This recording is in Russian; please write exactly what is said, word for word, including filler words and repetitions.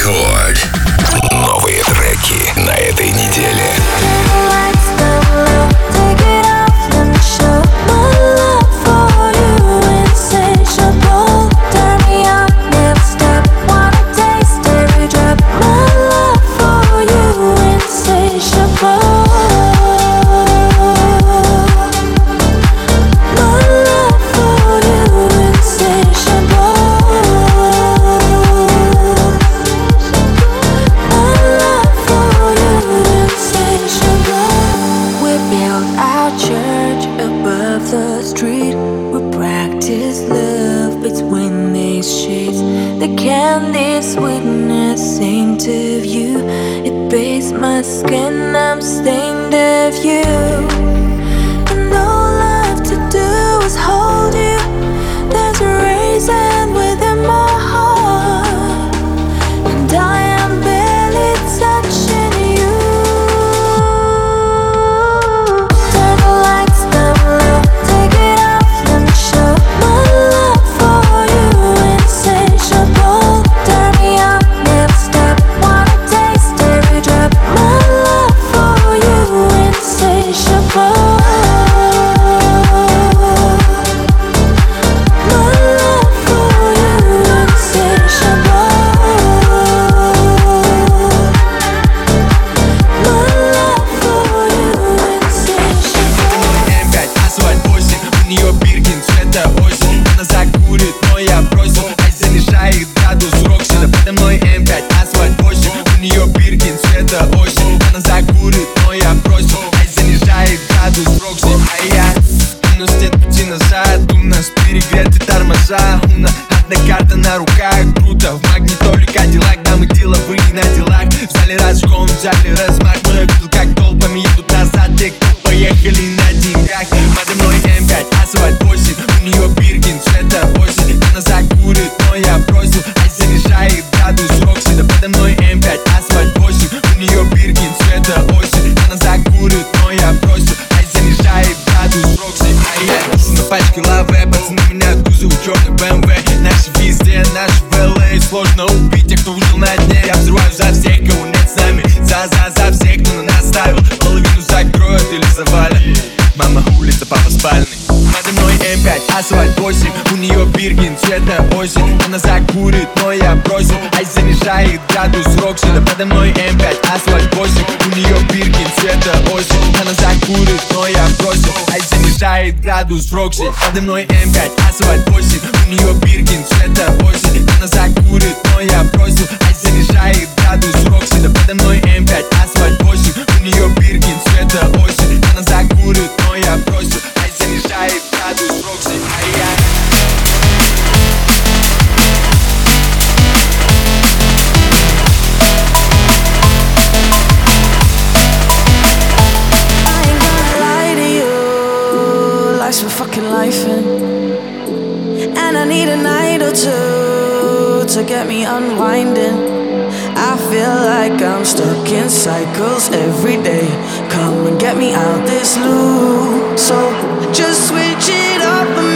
Рекорд. Новые треки на этой неделе. Градус Рокси, подо мной эм пять, асфальт восемь. У нее Биркин цвета осень. Она закурит, но я бросил. Ай, занижает градус Рокси. Да подо мной эм пять, асфальт восемь. У нее Биркин цвета осень. Она закурит, но я бросил. Ай, занижает градус Рокси. Ай-яй. Life's for fucking life in, and I need a night or two to get me unwinding. I feel like I'm stuck in cycles every day. Come and get me out this loop. So just switch it up and